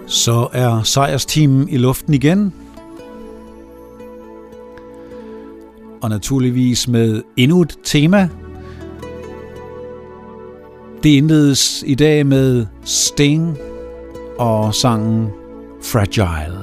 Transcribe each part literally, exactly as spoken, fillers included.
Så er sejrsteamen i luften igen. Og naturligvis med endnu et tema. Det indledes i dag med Sting og sangen Fragile.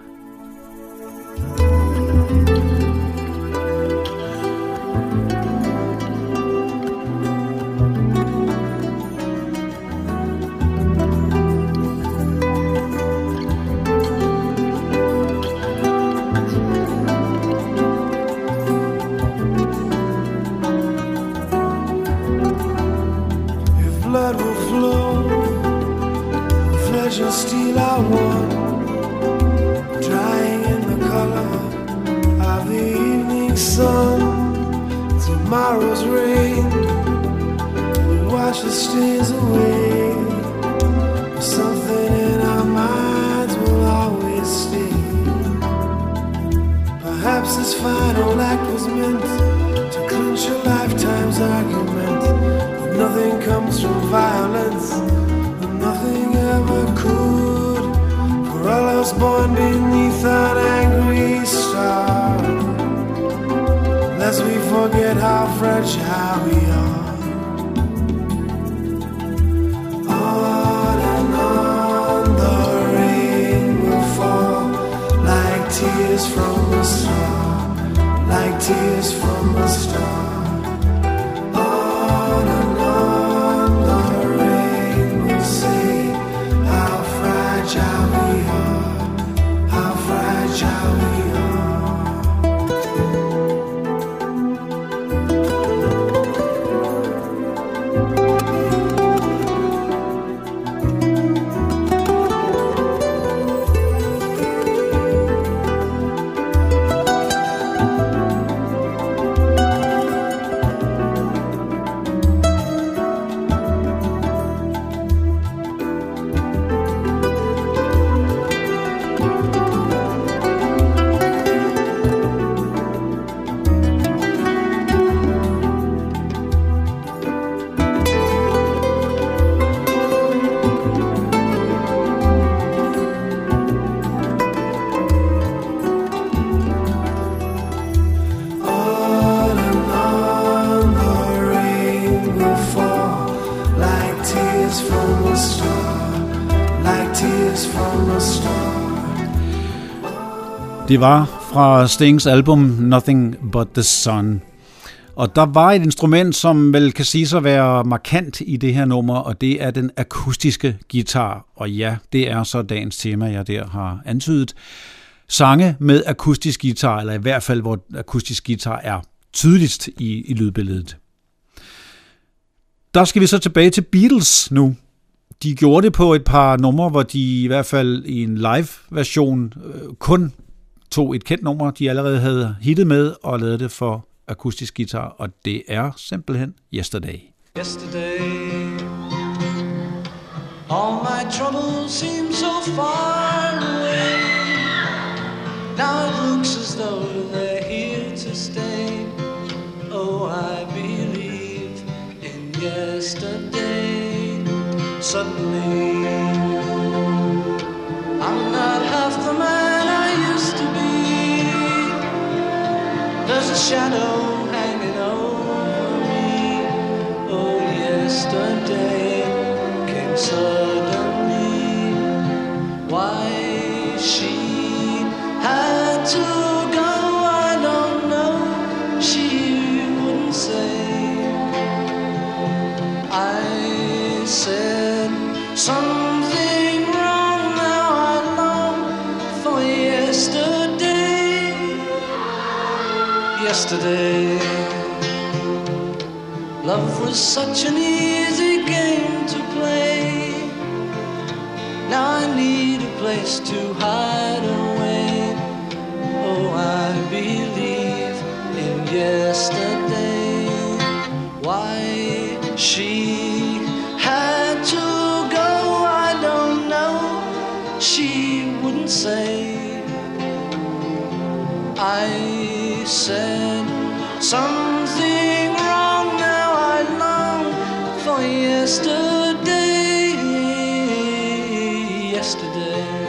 Det var fra Stings album Nothing But The Sun. Og der var et instrument, som vel kan sige at være markant i det her nummer, og det er den akustiske guitar. Og ja, det er så dagens tema, jeg der har antydet. Sange med akustisk guitar, eller i hvert fald hvor akustisk guitar er tydeligst i, i lydbilledet. Der skal vi så tilbage til Beatles nu. De gjorde det på et par numre, hvor de i hvert fald i en live-version øh, kun tog et kendt nummer, de allerede havde hittet med, og lavede det for akustisk guitar, og det er simpelthen Yesterday. Yesterday, all my troubles seem so far away. Now it looks as though they're here to stay. Oh, I believe in yesterday. Suddenly, I'm not half the man I used to be. There's a shadow hanging over me. Oh, yesterday came suddenly. Why she had to go, I don't know. She wouldn't say. I said something wrong. Now I long for yesterday. Yesterday, love was such an easy game to play. Now I need a place to hide away. Oh, I believe in yesterday. Why she had to go, I don't know. She wouldn't say. I said something wrong. Now I long for yesterday. Yesterday.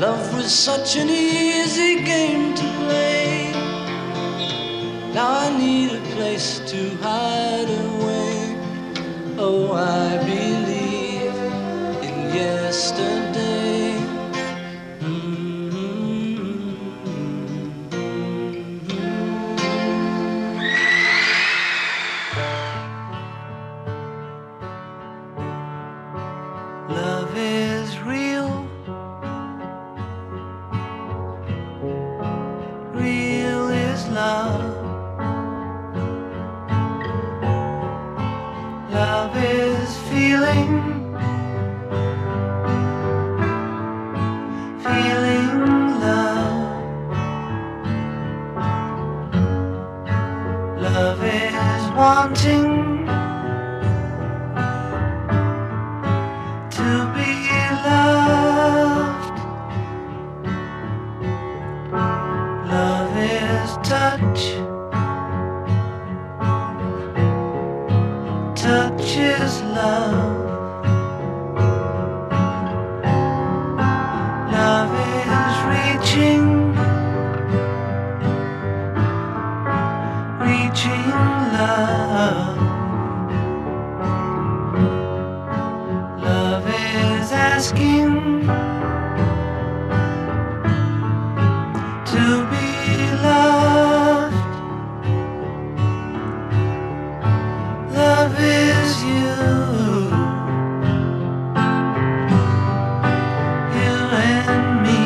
Love was such an easy game to play. Now I need a place to hide away. Oh, I believe in yesterday. Mm-hmm. Love is real. Real is love. Love is feeling, feeling love. Love is wanting to be loved. Love is touch. Touch is love. Love is reaching, reaching love. Love is asking to be loved. Love is you, you and me.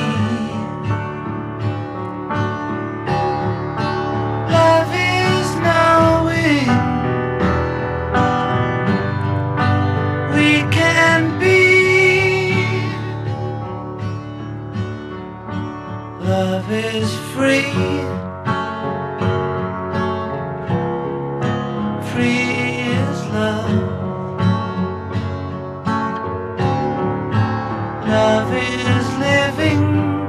Love is knowing we can be. Love is free, free. Love is living,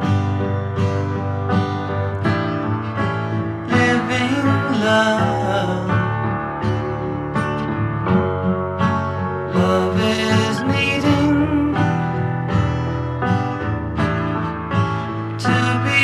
living love. Love is needing to be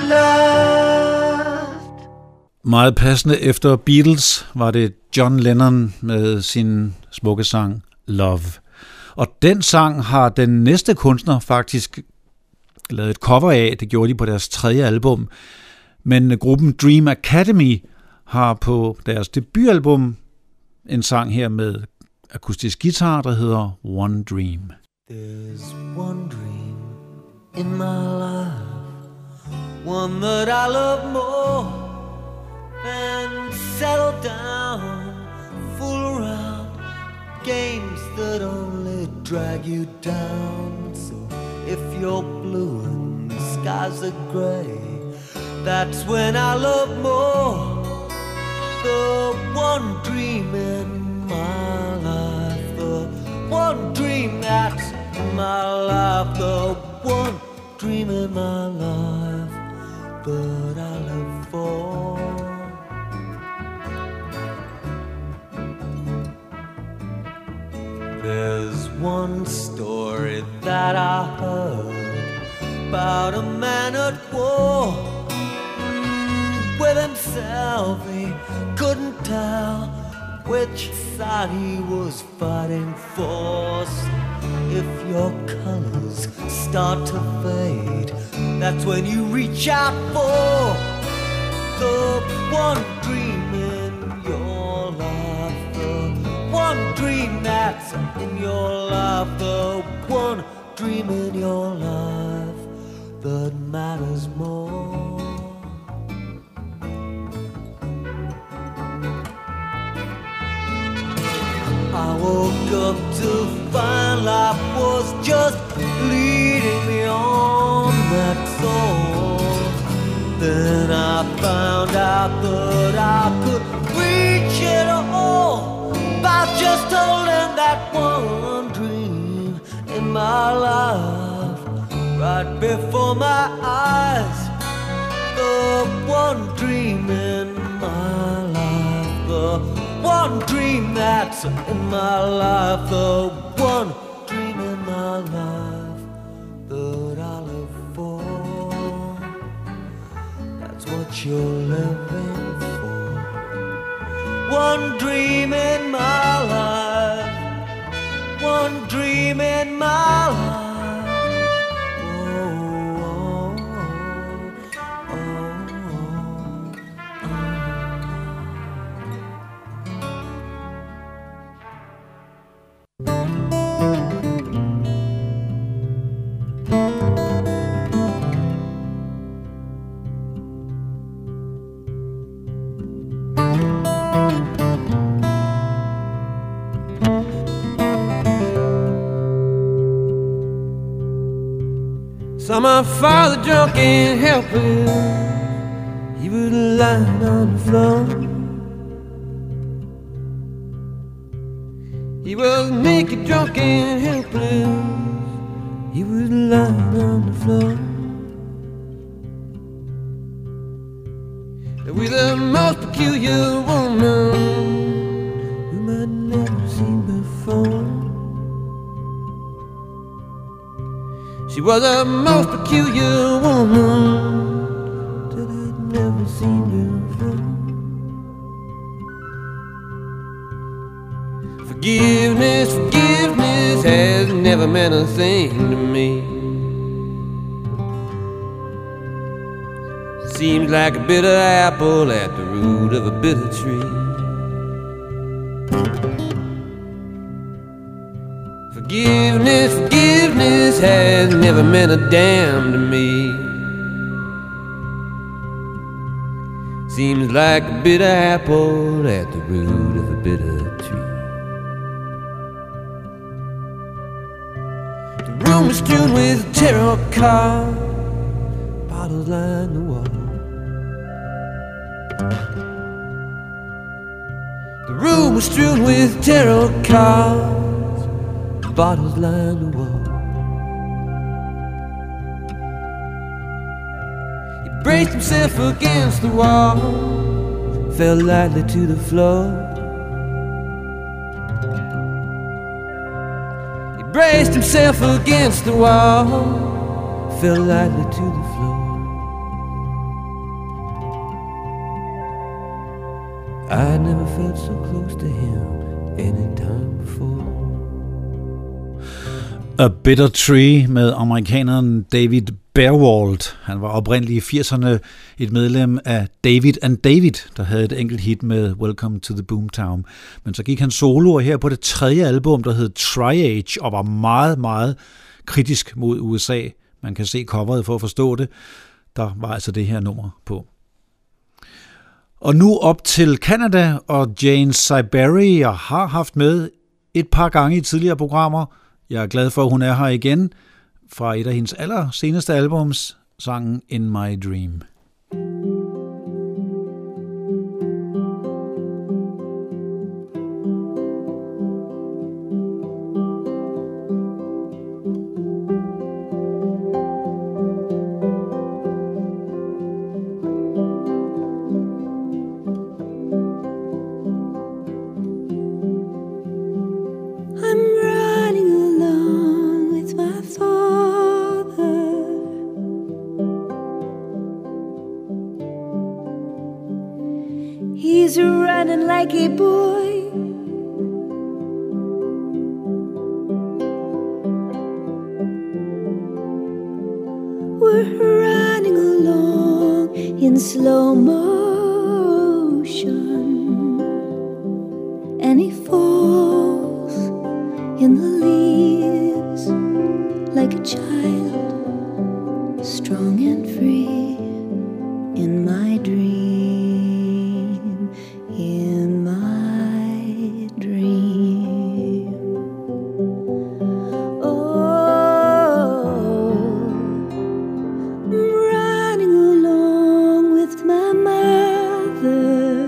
loved. Meget passende efter Beatles var det John Lennon med sin smukke sang Love. Og den sang har den næste kunstner faktisk lavet et cover af. Det gjorde de på deres tredje album. Men gruppen Dream Academy har på deres debutalbum en sang her med akustisk guitar, der hedder One Dream. There's one dream in my life, one that I love more than settle down, fool around, games that only drag you down. So if you're blue and the skies are grey, that's when I love more. The one dream in my life, the one dream that's in my life, the one dream in my life that I live for. There's one story that I heard about a man at war with himself. He couldn't tell which side he was fighting for. So if your colors start to fade, that's when you reach out for the one dream in your life, the one dream that's in your life, the one dream in your life that matters more. I woke up to find life was just leading me on, that's all. Then I found out that I could reach it all by just holding that one dream in my life right before my eyes. The one dream in my life, the one dream that's in my life, the one dream in my life that I live for. what you're living for. One dream in my life, one dream in my life. Saw my father drunk and helpless, he was lying on the floor. He was naked, drunk and helpless, he was lying on the floor. With the most peculiar woman whom I'd never seen before. She was a most peculiar woman that I'd never seen before. Forgiveness, forgiveness has never meant a thing to me. Seems like a bitter apple at the root of a bitter tree. Forgiveness, forgiveness has never meant a damn to me. Seems like a bitter apple at the root of a bitter tree. The room is strewn with tarot cards, bottles line the wall. The room was strewn with tarot cards, bottles line the wall. He braced himself against the wall, fell lightly to the floor. He braced himself against the wall, fell lightly to the floor. I never felt so close to him any time before. A Bitter Tree med amerikaneren David Berwald. Han var oprindeligt i firserne et medlem af David and David, der havde et enkelt hit med Welcome to the Boomtown. Men så gik han solo her på det tredje album, der hed Triage, og var meget, meget kritisk mod U S A. Man kan se coveret for at forstå det. Der var altså det her nummer på. Og nu op til Canada, og Jane Siberry, jeg har haft med et par gange i tidligere programmer. Jeg er glad for, at hun er her igen fra et af hendes aller seneste albums, sangen In My Dream. He's running like a boy, we're running along in slow motion, and he falls in the leaves like a child, strong and free in my dream. In my dream, oh, I'm running along with my mother.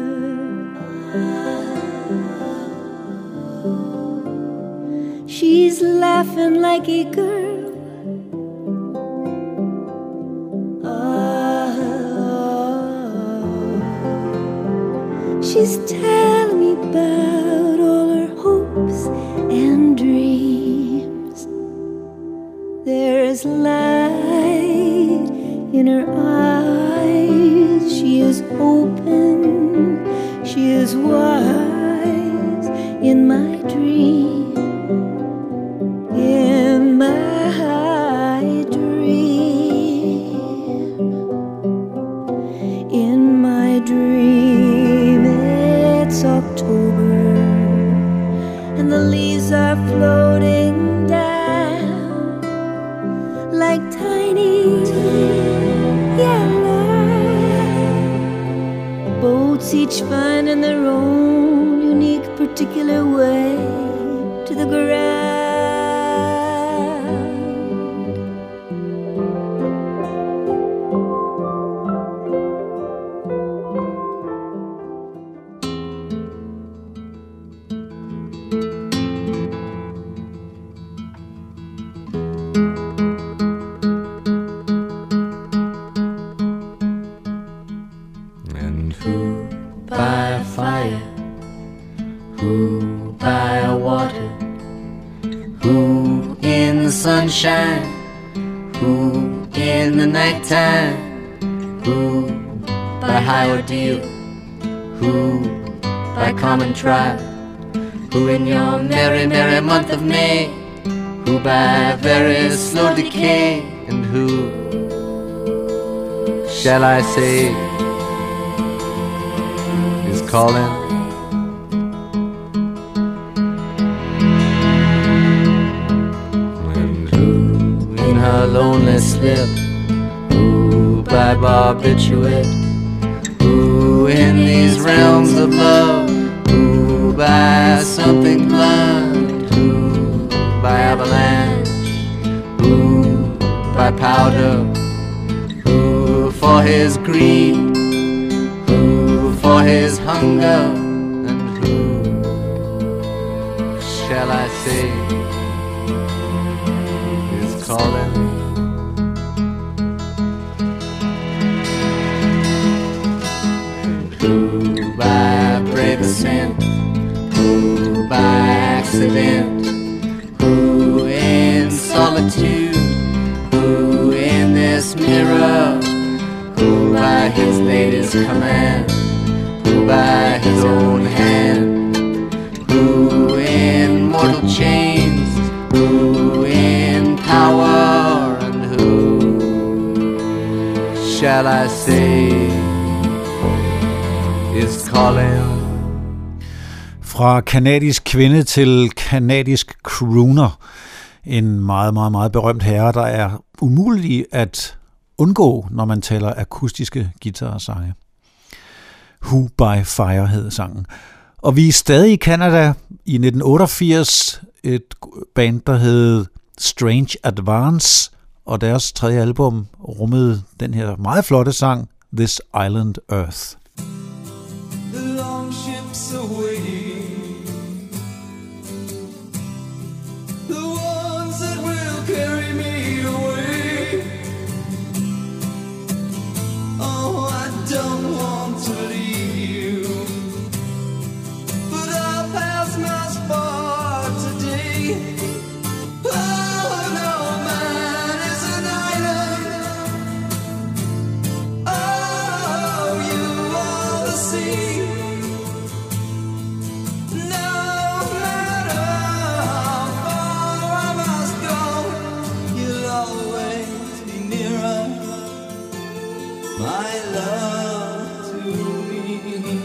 She's laughing like a girl. She's telling me about all her hopes and dreams. There's light in her eyes. She is open, she is wise in my dream, in my dream, in my dream. It's October and the leaves are floating down like tiny yellow boats, each finding their own unique particular way to the ground. Sunshine, who in the nighttime, who by high ordeal, who by common trial, who in your merry, merry month of May, who by very slow decay, and who shall I say is calling? Her lonely slip, who by barbiturate, who in these realms of love, who by something blunt, who by avalanche, who by powder, who for his greed, who for his hunger, and who shall I say is calling? Who by accident, who in solitude, who in this mirror, who by his lady's command, who by his own hand, who in mortal chains, who in power, and who shall I say is calling? Fra kanadisk kvinde til kanadisk crooner. En meget, meget, meget berømt herre, der er umulig at undgå, når man taler akustiske guitarsange. Who by Fire hed sangen. Og vi er stadig i Canada i nitten otteogfirs, et band, der hed Strange Advance, og deres tredje album rummede den her meget flotte sang, This Island Earth. The long ships away, the ones that will carry me away. Oh, I don't want to leave you, but our paths must part today. Oh, no man is an island. Oh, you are the sea. My love to me.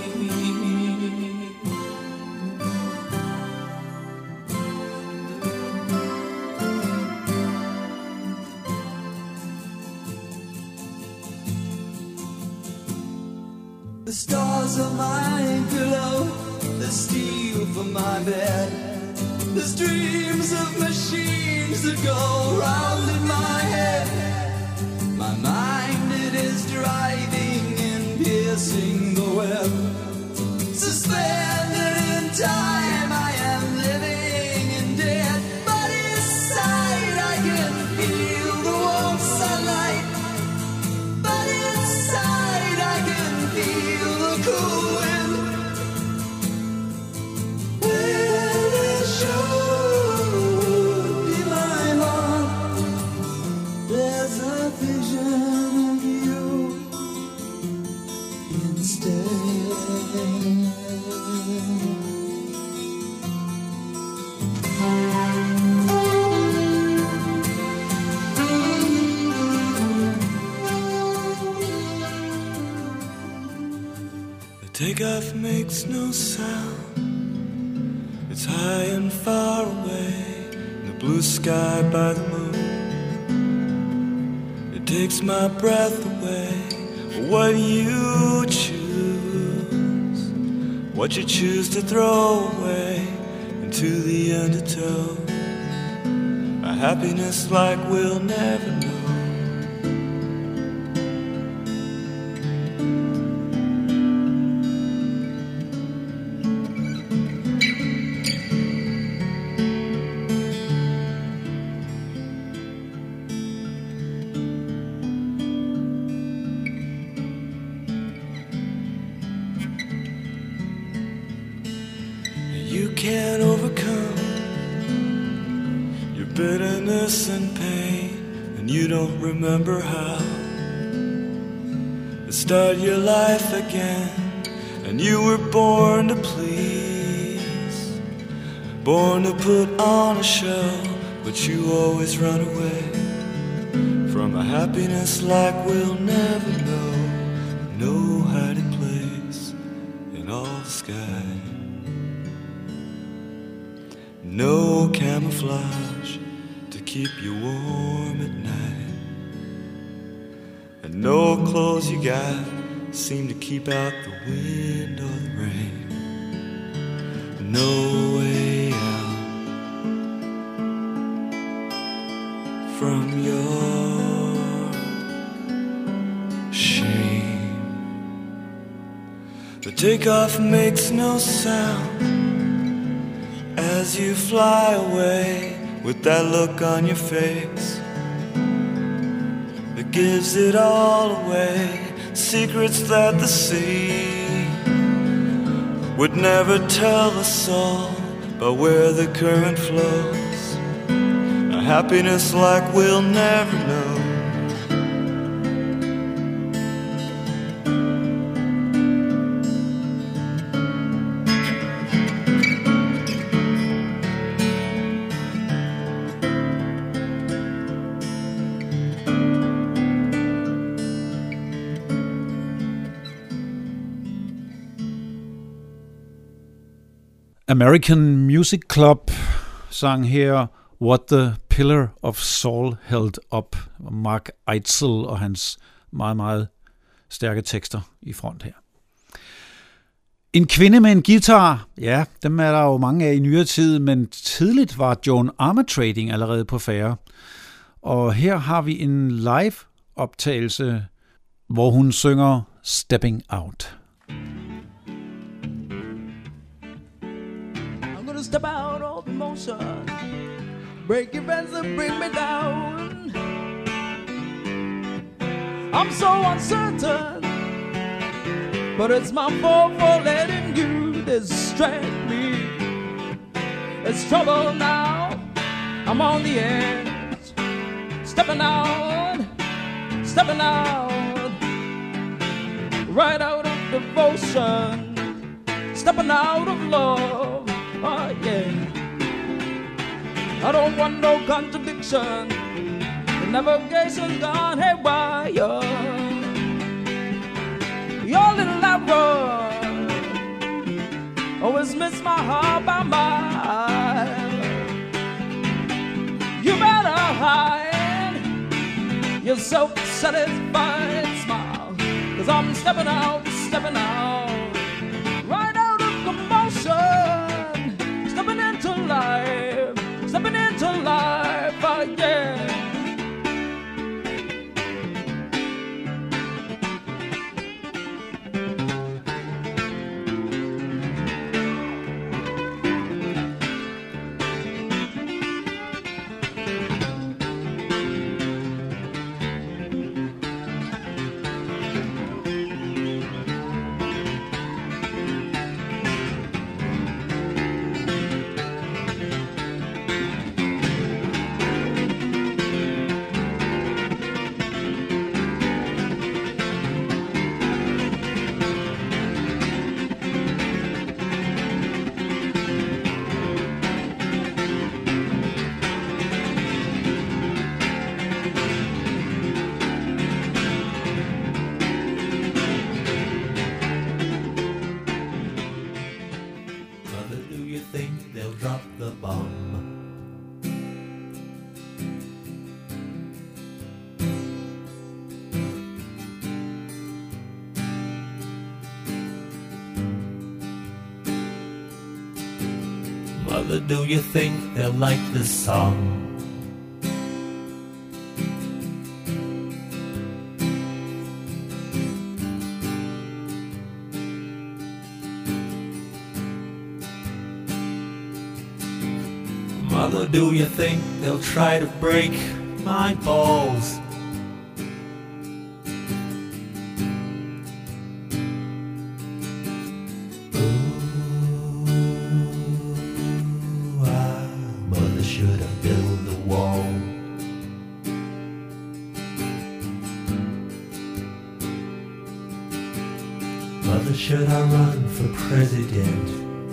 The stars are my pillow, the steel for my bed. There's dreams of machines that go round in my head. My mind, it is driving and piercing the web. Suspended in time, I am living in death. But inside I can feel the warm sunlight. But inside I can feel the cool wind. Where there should be my heart, there's a vision of you in Takeoff makes no sound. It's high and far away in the blue sky by the moon. It takes my breath away. What you choose, what you choose to throw away into the undertow. A happiness like we'll never know. Can't overcome your bitterness and pain, and you don't remember how to start your life again. And you were born to please, born to put on a show, but you always run away from a happiness like we'll never know. No hiding place in all the sky, no camouflage to keep you warm at night, and no clothes you got seem to keep out the wind or the rain. No way out from your shame. The takeoff makes no sound as you fly away with that look on your face that gives it all away. Secrets that the sea would never tell a soul, but where the current flows, a happiness like we'll never know. American Music Club sang her What the Pillar of Saul Held Up. Mark Eitzel og hans meget, meget stærke tekster i front her. En kvinde med en guitar, ja, dem er der jo mange af i nyere tid, men tidligt var Joan Armatrading allerede på færde. Og her har vi en live optagelse, hvor hun synger Stepping Out. Step out of emotion, break your fence and bring me down. I'm so uncertain, but it's my fault for letting you distract me. It's trouble now, I'm on the edge, stepping out, stepping out, right out of devotion, stepping out of love. Oh yeah, I don't want no contradiction. The navigation's gone haywire. Your little arrow always miss my heart by mile. You better hide your self-satisfied smile, 'cause I'm stepping out, stepping out, right out of commotion. Stepping into life, stepping into life, oh yeah. Mother, do you think they'll like this song? Mother, do you think they'll try to break my balls? Should I run for president?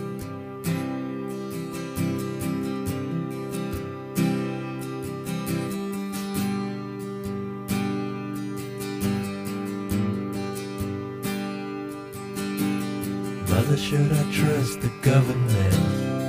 Mother, should I trust the government?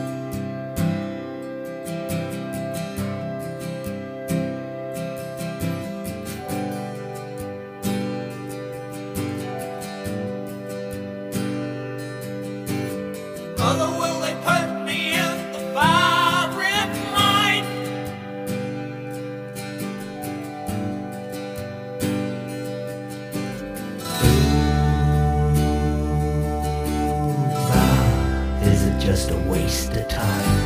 Just a waste of time.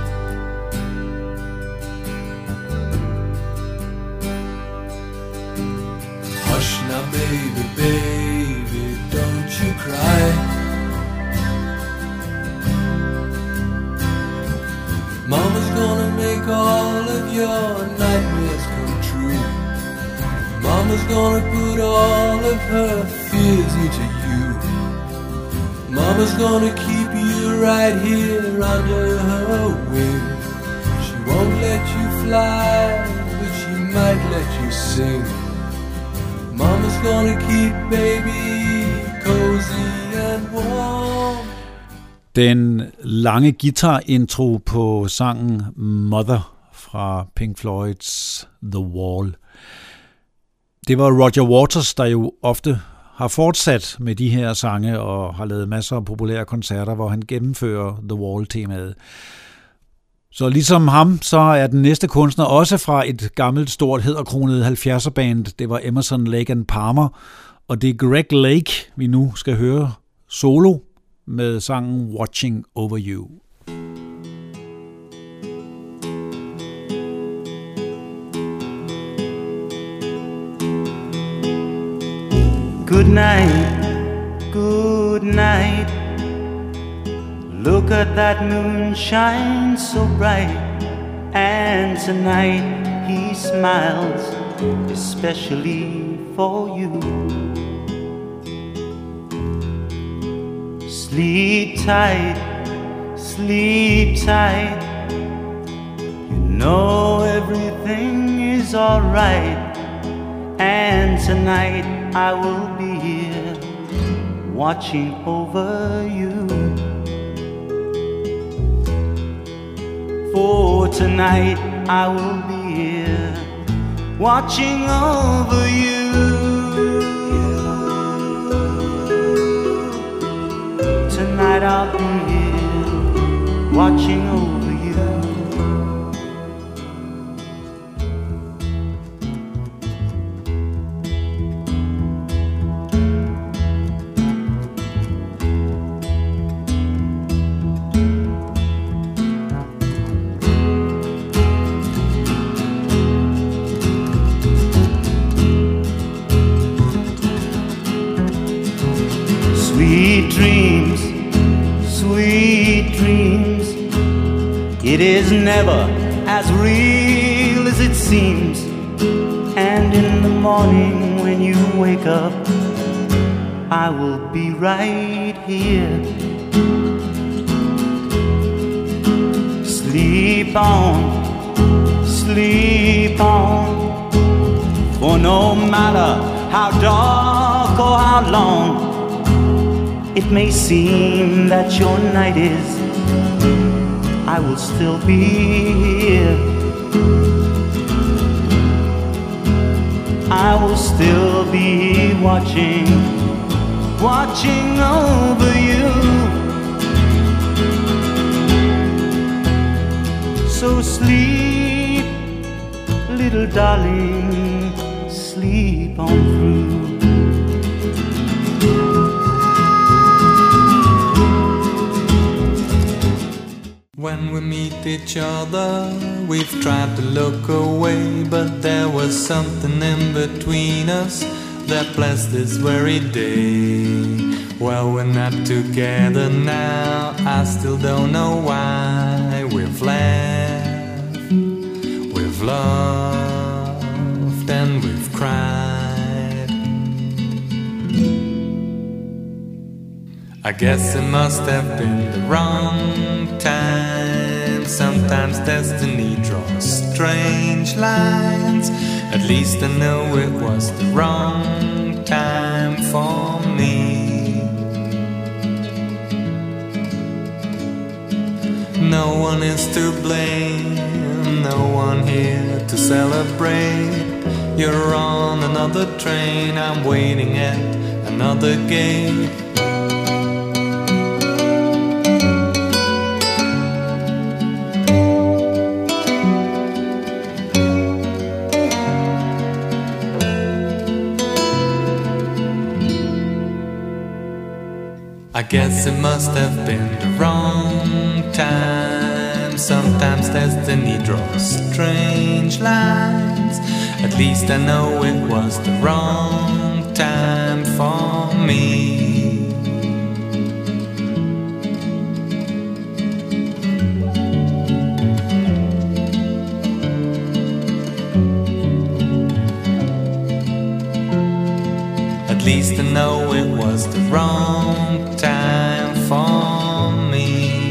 Hush now, baby, baby, don't you cry. Mama's gonna make all of your nightmares come true. Mama's gonna put all of her fears into you. Mama's gonna keep you right here under her wing. She won't let you fly, but she might let you sing. Mama's gonna keep baby cozy and warm. Den lange guitar-intro på sangen Mother fra Pink Floyds The Wall. Det var Roger Waters, der jo ofte har fortsat med de her sange og har lavet masser af populære koncerter, hvor han gennemfører The Wall-temaet. Så ligesom ham, så er den næste kunstner også fra et gammelt, stort, hæderkronet halvfjerdser-band. Det var Emerson, Lake and Palmer, og det er Greg Lake, vi nu skal høre solo med sangen Watching Over You. Good night, good night. Look at that moon shine so bright. And tonight he smiles especially for you. Sleep tight, sleep tight. You know everything is alright. And tonight I will be here watching over you. For tonight I will be here watching over you. Tonight I'll be here watching over you. Sweet dreams, sweet dreams. It is never as real as it seems. And in the morning when you wake up, I will be right here. Sleep on, sleep on. For no matter how dark or how long it may seem that your night is, I will still be here. I will still be watching, watching over you. So sleep, little darling, sleep on through. When we meet each other, we've tried to look away, but there was something in between us that blessed this very day. Well, we're not together now, I still don't know why. We've laughed, we've loved, and we've cried. I guess it must have been the wrong time. Sometimes destiny draws strange lines. At least I know it was the wrong time for me. No one is to blame, no one here to celebrate. You're on another train, I'm waiting at another gate. I guess it must have been the wrong time. Sometimes destiny draws strange lines. At least I know it was the wrong time for me. At least I know it was the wrong time for me.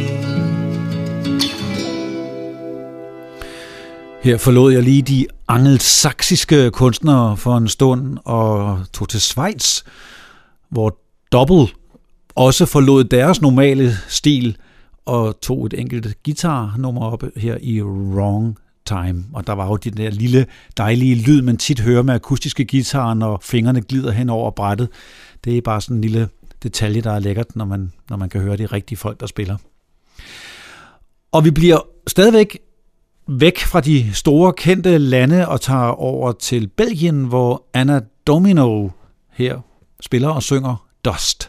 Her forlod jeg lige de angelsaksiske kunstnere for en stund og tog til Schweiz, hvor Double også forlod deres normale stil og tog et enkelt guitarnummer op her i Wrong Time. Og der var jo den der lille dejlige lyd, man tit hører med akustiske guitarer, når fingrene glider hen over brættet. Det er bare sådan en lille detalje, der er lækkert, når man, når man kan høre de rigtige folk, der spiller. Og vi bliver stadigvæk væk fra de store kendte lande og tager over til Belgien, hvor Anna Domino her spiller og synger Dust.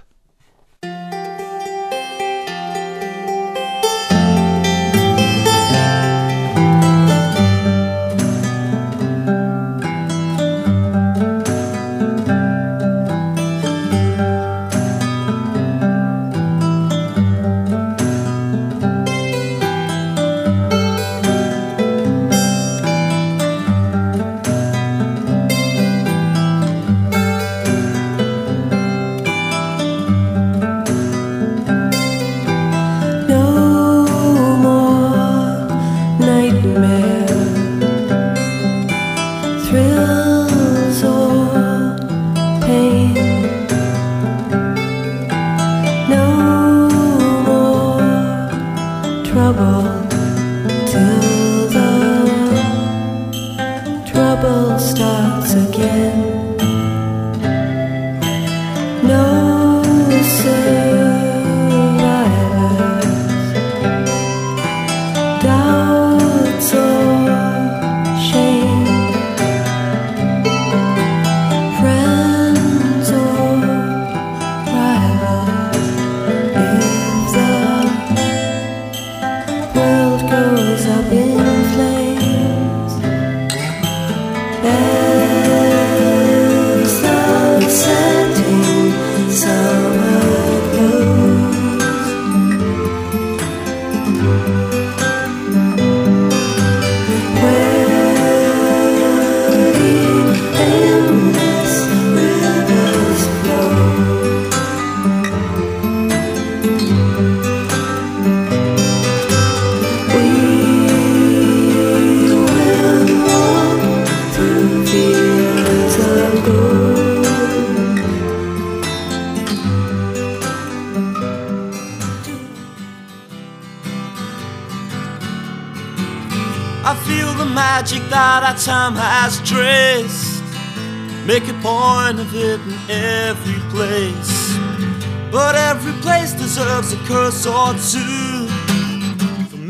Time has traced, make a point of it in every place, but every place deserves a curse or two. For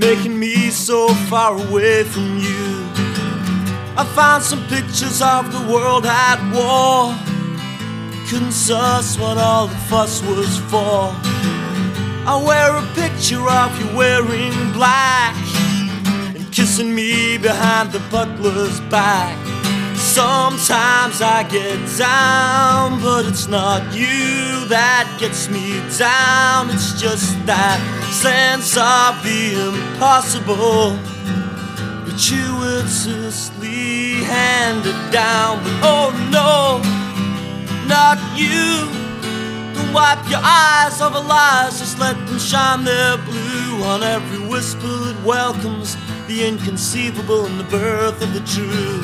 making me so far away from you. I found some pictures of the world at war. Couldn't suss what all the fuss was for. I wear a picture of you wearing black and kissing me behind the butler's back. Sometimes I get down, but it's not you that gets me down. It's just that sense of the impossible, gratuitously handed down. But oh no, not you. Don't wipe your eyes over lies, just let them shine their blue on every whisper that welcomes the inconceivable and the birth of the true.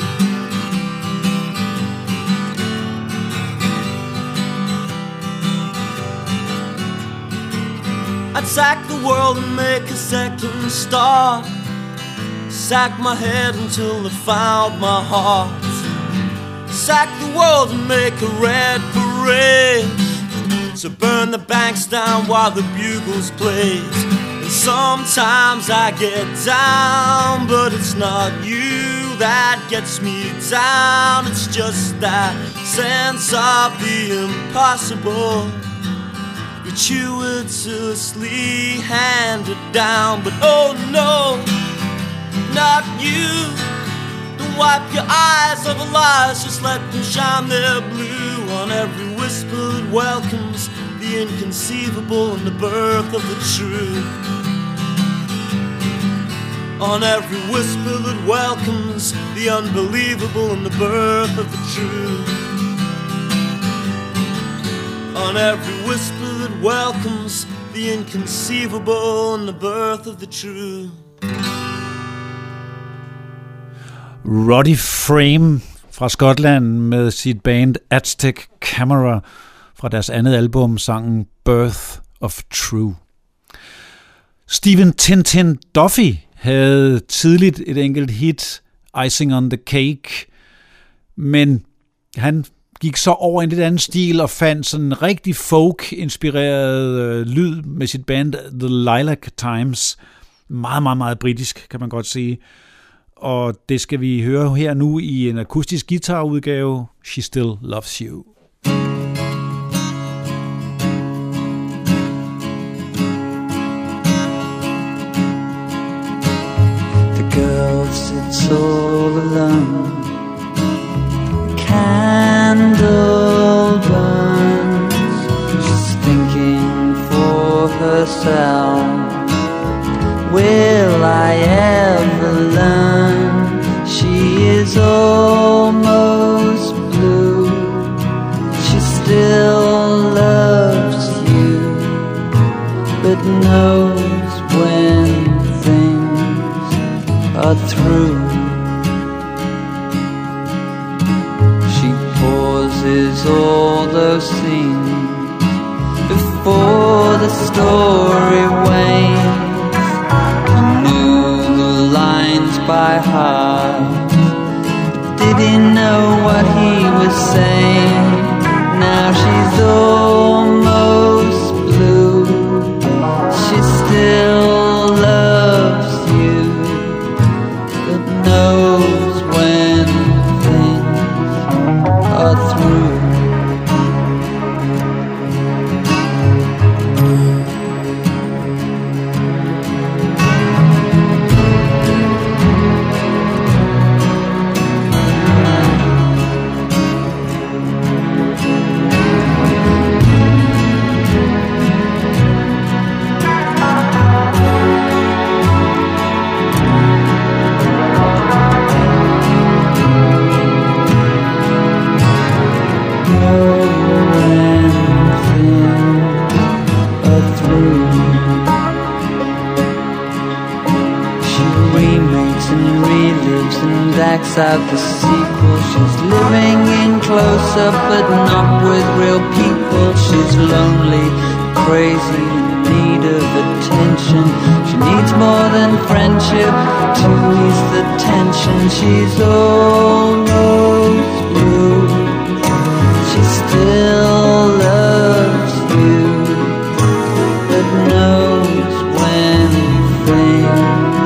I'd sack the world and make a second start. Sack my head until it found my heart. Sack the world and make a red parade. So burn the banks down while the bugles play. And sometimes I get down, but it's not you that gets me down. It's just that sense of the impossible, gratuitously handed down. But oh no, not you. Don't wipe your eyes over lies, just let them shine their blue on every whisper that welcomes the inconceivable and the birth of the true. On every whisper that welcomes the unbelievable and the birth of the true. On every whisper that welcomes the inconceivable and the birth of the true. Roddy Frame fra Skotland med sit band Aztec Camera fra deres andet album, sangen Birth of True. Stephen Tintin Duffy havde tidligt et enkelt hit, Icing on the Cake, men han gik så over i en lidt anden stil og fandt sådan en rigtig folk-inspireret øh, lyd med sit band The Lilac Times. Meget, meget, meget britisk, kan man godt sige. Og det skal vi høre her nu i en akustisk guitarudgave, She Still Loves You. The girl sits all alone, candle burns, she's thinking for herself. Will I ever learn? She is almost blue. She still loves you, but knows when things are through. She pauses all those scenes before the story wanes. By heart, did he know what he was saying? Now she's almost blue. She still loves you, but knows when things are through. Out the sequel, she's living in close-up but not with real people. She's lonely, crazy, in need of attention. She needs more than friendship to ease the tension. She's almost blue. She still loves you, but knows when things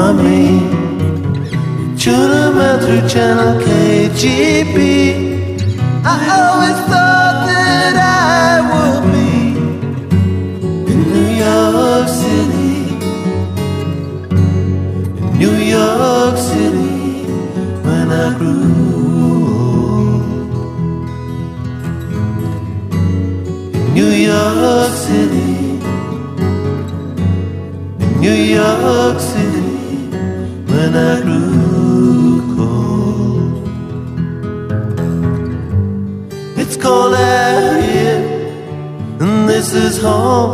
me. Tune 'em out through channel K G B. I always thought that I would be in New York City, in New York City, when I grew old. In New York City, in New York City, when I grew cold. It's cold out here, and this is home.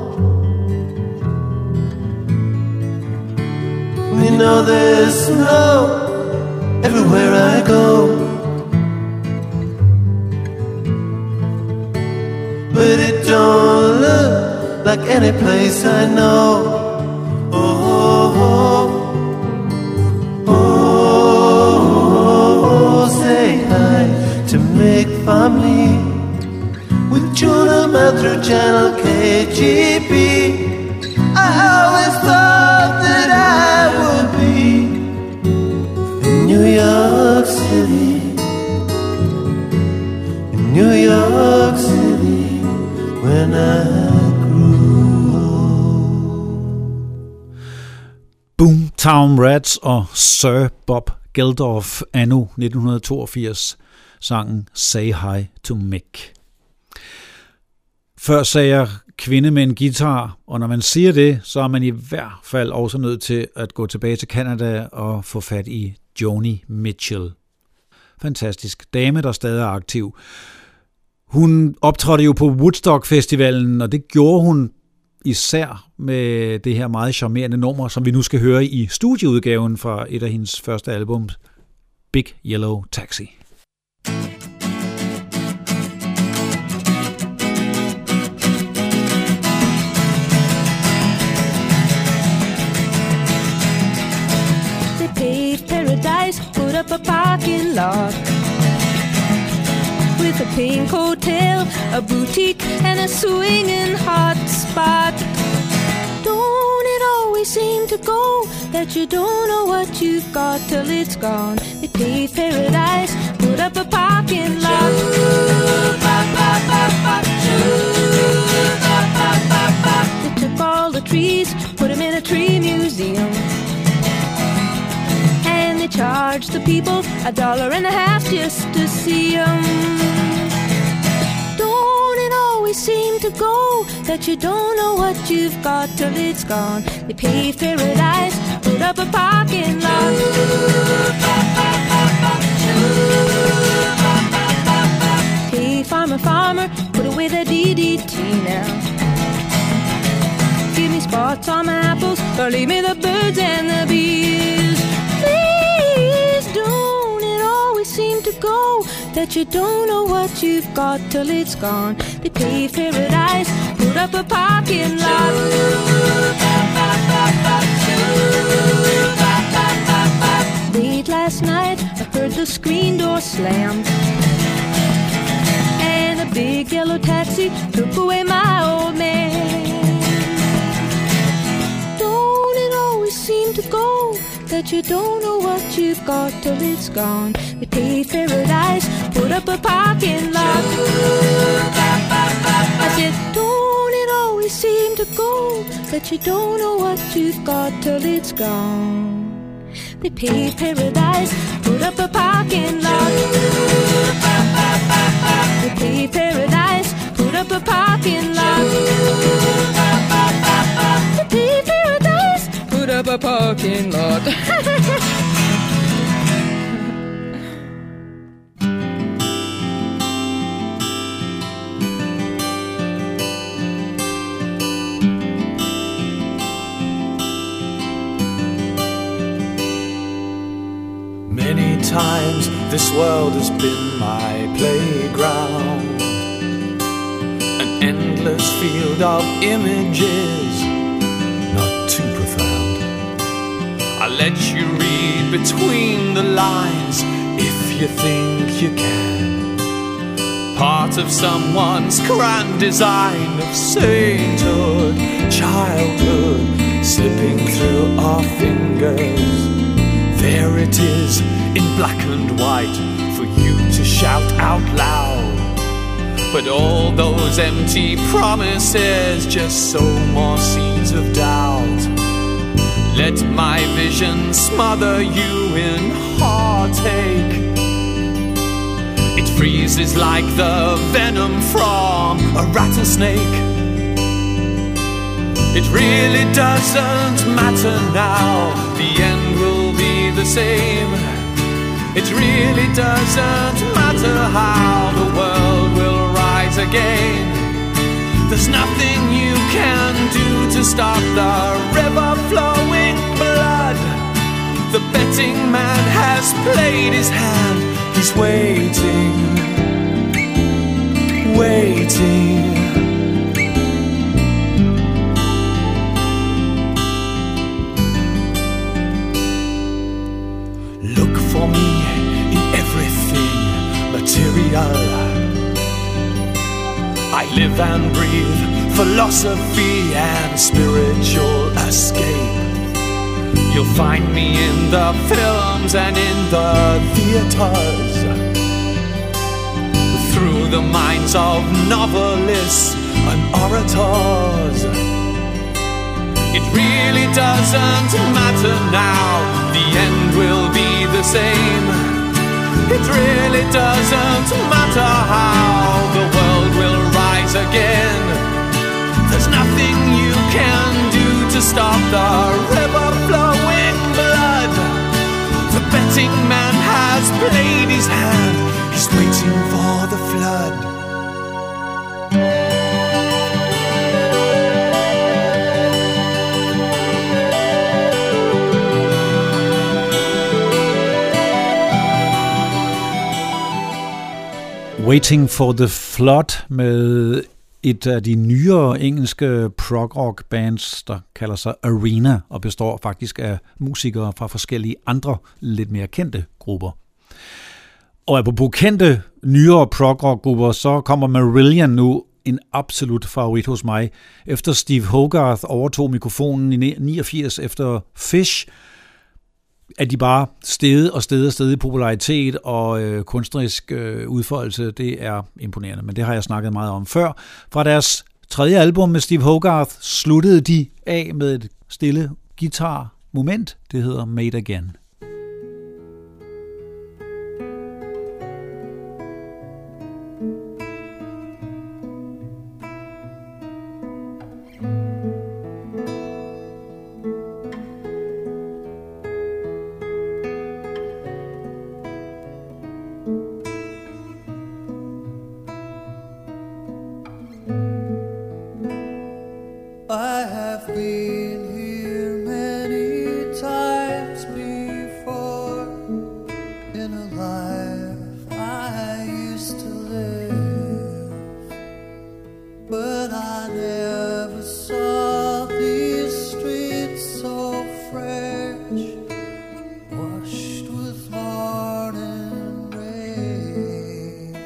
You know there's snow everywhere I go, but it don't look like any place I know. Oh, oh, oh, oh, say hi to Mick family. We tune 'em out through channel K G B. I always thought that I would be in New York City, in New York City, when I grew old. Boomtown Rats og Sir Bob Geldof anno nitten toogfirs, sangen Say Hi to Mick. Før sagde jeg kvinde med en guitar, og når man siger det, så er man i hvert fald også nødt til at gå tilbage til Canada og få fat i Joni Mitchell. Fantastisk dame, der stadig er aktiv. Hun optrådte jo på Woodstock-festivalen, og det gjorde hun især med det her meget charmerende nummer, som vi nu skal høre i studieudgaven fra et af hendes første album, Big Yellow Taxi. Put up a parking lot with a pink hotel, a boutique, and a swinging hot spot. Don't it always seem to go that you don't know what you've got till it's gone? They paved paradise, put up a parking lot. They took all the trees, put them in a tree museum. They charge the people a dollar and a half just to see them. Don't it always seem to go that you don't know what you've got till it's gone? They paved paradise, put up a parking lot. Hey, farmer, farmer, put away the D D T now. Give me spots on my apples, or leave me the birds and the bees. Seem to go that you don't know what you've got till it's gone. They paved paradise, put up a parking lot. Late last night I heard the screen door slam, and a big yellow taxi took away my old man. Don't it always seem to go that you don't know what you've got till it's gone? They paved paradise, put up a parking lot. I said, don't it always seem to go that you don't know what you've got till it's gone? They paved paradise, put up a parking lot. They paved paradise, put up a parking lot. They paved paradise, put up a parking lot. Many times this world has been my playground, an endless field of images, not too profound. I let you read between the lines if you think you can. Part of someone's grand design of sainthood, childhood, slipping through our fingers. fingers. There it is in black and white for you to shout out loud. But all those empty promises just sow more seeds of doubt. Let my vision smother you in heartache. It freezes like the venom from a rattlesnake. It really doesn't matter now, the end will be the same. It really doesn't matter how the world will rise again. There's nothing you can do to stop the river flowing blood. The betting man has played his hand. He's waiting, waiting. Look for me in everything material. I live and breathe philosophy and spiritual escape. You'll find me in the films and in the theaters, through the minds of novelists and orators. It really doesn't matter now, the end will be the same. It really doesn't matter how the world will rise again. There's nothing you can do to stop the river flowing blood. The betting man has played his hand. He's waiting for the flood. Waiting for the Flood med et af de nyere engelske prog-rock bands, der kalder sig Arena og består faktisk af musikere fra forskellige andre lidt mere kendte grupper. Og apropos kendte nyere prog-rock grupper, så kommer Marillion nu en absolut favorit hos mig. Efter Steve Hogarth overtog mikrofonen i niogfirs efter Fish, at de bare steget og steget og steget i popularitet og øh, kunstnerisk øh, udfoldelse, det er imponerende. Men det har jeg snakket meget om før. Fra deres tredje album med Steve Hogarth sluttede de af med et stille guitar-moment. Det hedder Made Again. I have been here many times before in a life I used to live, but I never saw these streets so fresh, washed with morning rain.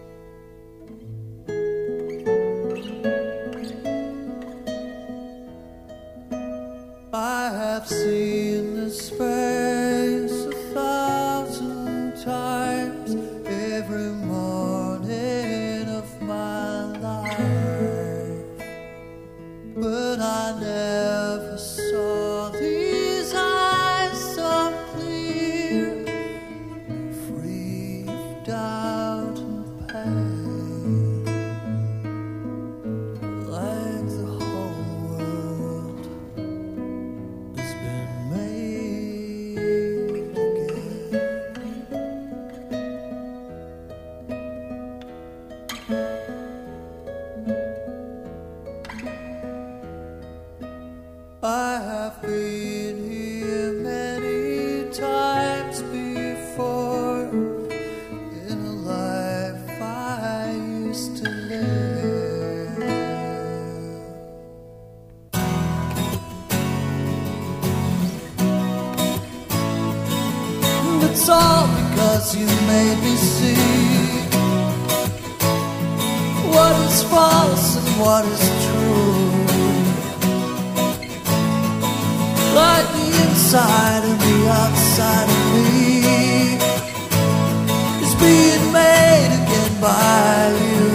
I have seen this face a thousand times every morning of my life, but I never saw these eyes so clear, free of doubt and pain, like the whole world has been made again. I have been here many times before in a life I used to live. It's all because you made me see what is false and what is true. Like the outside and the outside of me is being made again by you.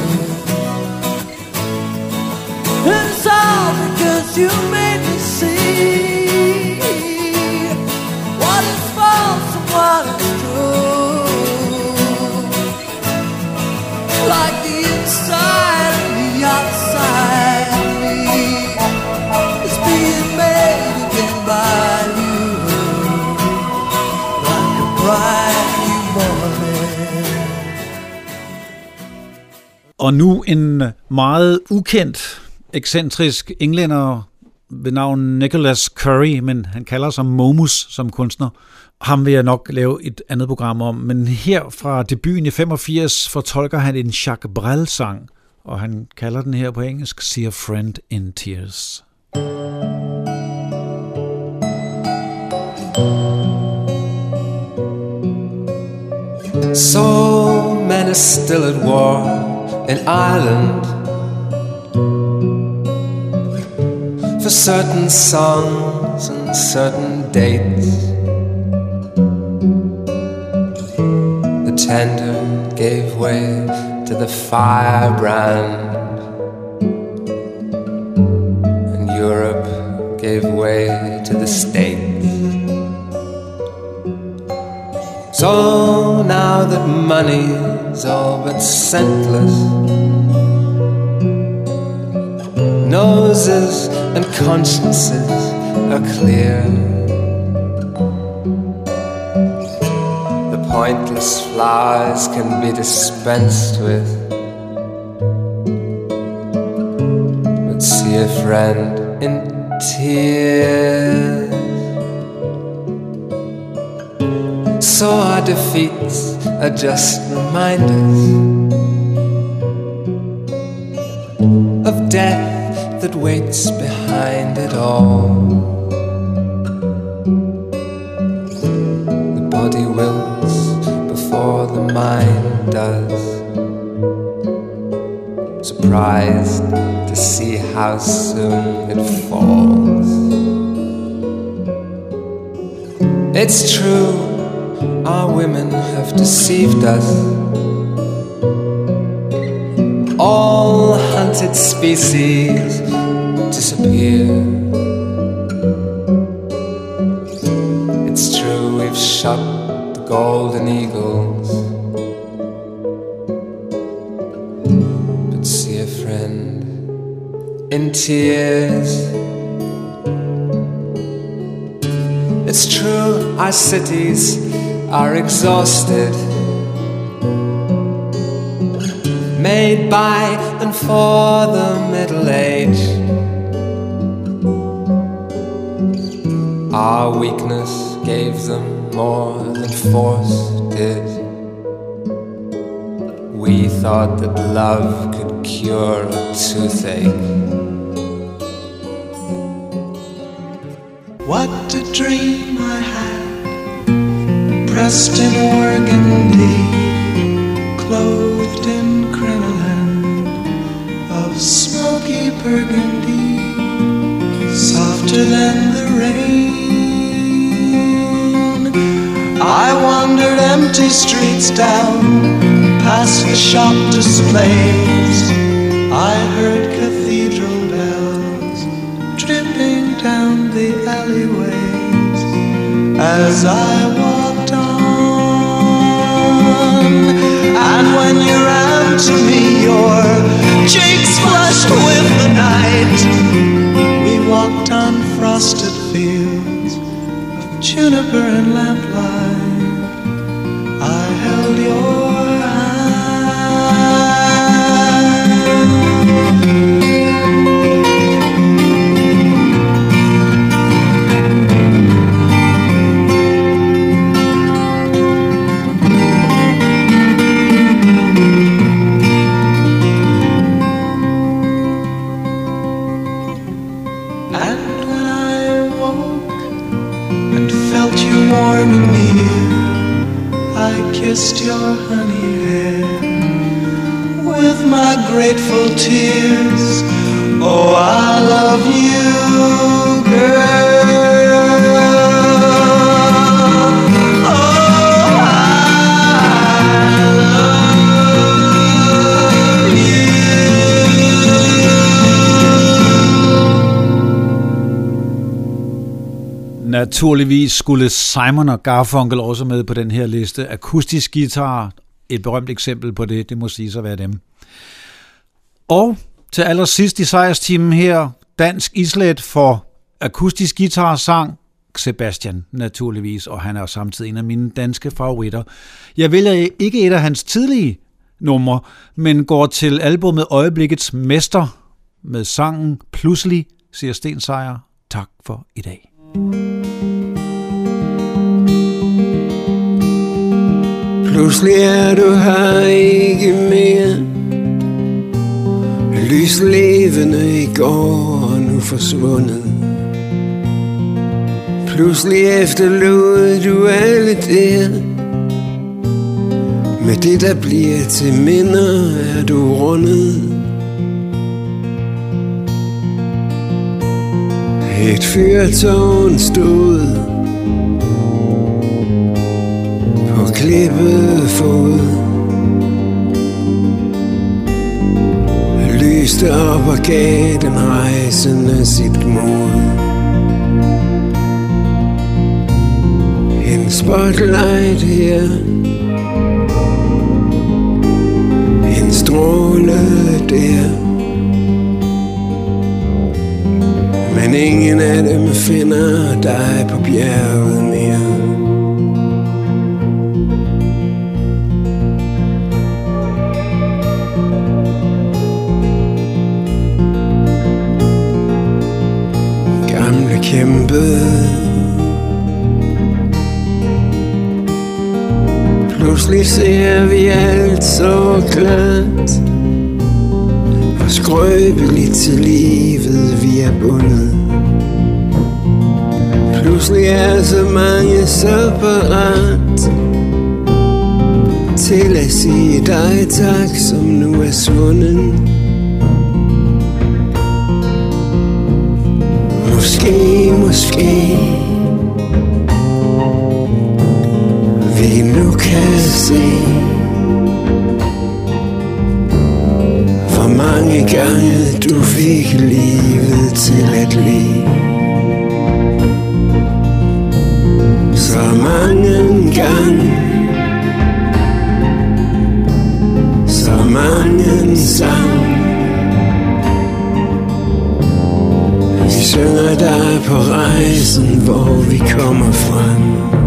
And it's all because you made me see what is false and what is true, like the inside and the outside of me is being made again by you, like a bright new morning. Og nu en meget ukendt, ekscentrisk englænder ved navn Nicholas Curry, men han kalder sig Momus som kunstner. Ham vil jeg nok lave et andet program om, men her fra debuten i femogfirs fortolker han en Jacques Brel-sang, og han kalder den her på engelsk See a Friend in Tears. So men are still at war in Ireland for certain songs and certain dates. The tender gave way to the firebrand, and Europe gave way to the States. So now that money's all but scentless, noses and consciences are clear, the pointless flowers can be dispensed with, but see a friend in tears. So our defeats are just reminders of death that waits behind it all. The body wilts before the mind does, surprised to see how soon it falls. It's true, our women have deceived us. All hunted species disappear. It's true, we've shot the golden eagles, but see a friend in tears. It's true, our cities are exhausted, made by and for the middle-aged. Our weakness gave them more than force did. We thought that love could cure a toothache. What a dream I had, pressed in organdy, clothed in crinoline of smoky burgundy, softer than the rain. I wandered empty streets down, past the shop displays. I heard cathedral bells dripping down the alleyways as I walked on. And when you ran to me, your cheeks flushed with the night. We walked on frosted fields of juniper and lamplight. I held your kissed your honey hair with my grateful tears. Oh, I love you, girl. Naturligvis skulle Simon og Garfunkel også med på den her liste. Akustisk guitar, et berømt eksempel på det, det må sige at være dem. Og til allersidst i sejrsteamen her, dansk islet for akustisk guitarsang, Sebastian naturligvis, og han er samtidig en af mine danske favoritter. Jeg vælger ikke et af hans tidlige numre, men går til albumet Øjeblikkets Mester med sangen Pludselig, siger Sten Sejer. Tak for i dag. Pludselig er du her ikke mere. Lys levende i går og nu forsvundet. Pludselig efterlod du alle der. Med det der bliver til minder er du rundet. Et fyrtårn stod på klippet fod. Lyste op og gav den rejsende sit mod. En spotlight her, en stråle der. Men ingen af dem finder dig på bjerget mere. Gamle kæmpe, pludselig ser vi alt så klart. Hvor skrøbeligt til livet vi er bundet. Pludselig er så mange så parat til at sige dig tak, som nu er svunden. Måske, måske vi nu kan se, hvor mange gange du fik livet til at leve. Så mange gange, så mange sang. Vi synger dig på rejsen, hvor vi kommer frem.